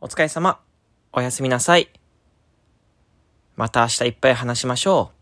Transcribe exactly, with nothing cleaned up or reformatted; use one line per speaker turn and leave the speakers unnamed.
お疲れ様。おやすみなさい。また明日いっぱい話しましょう。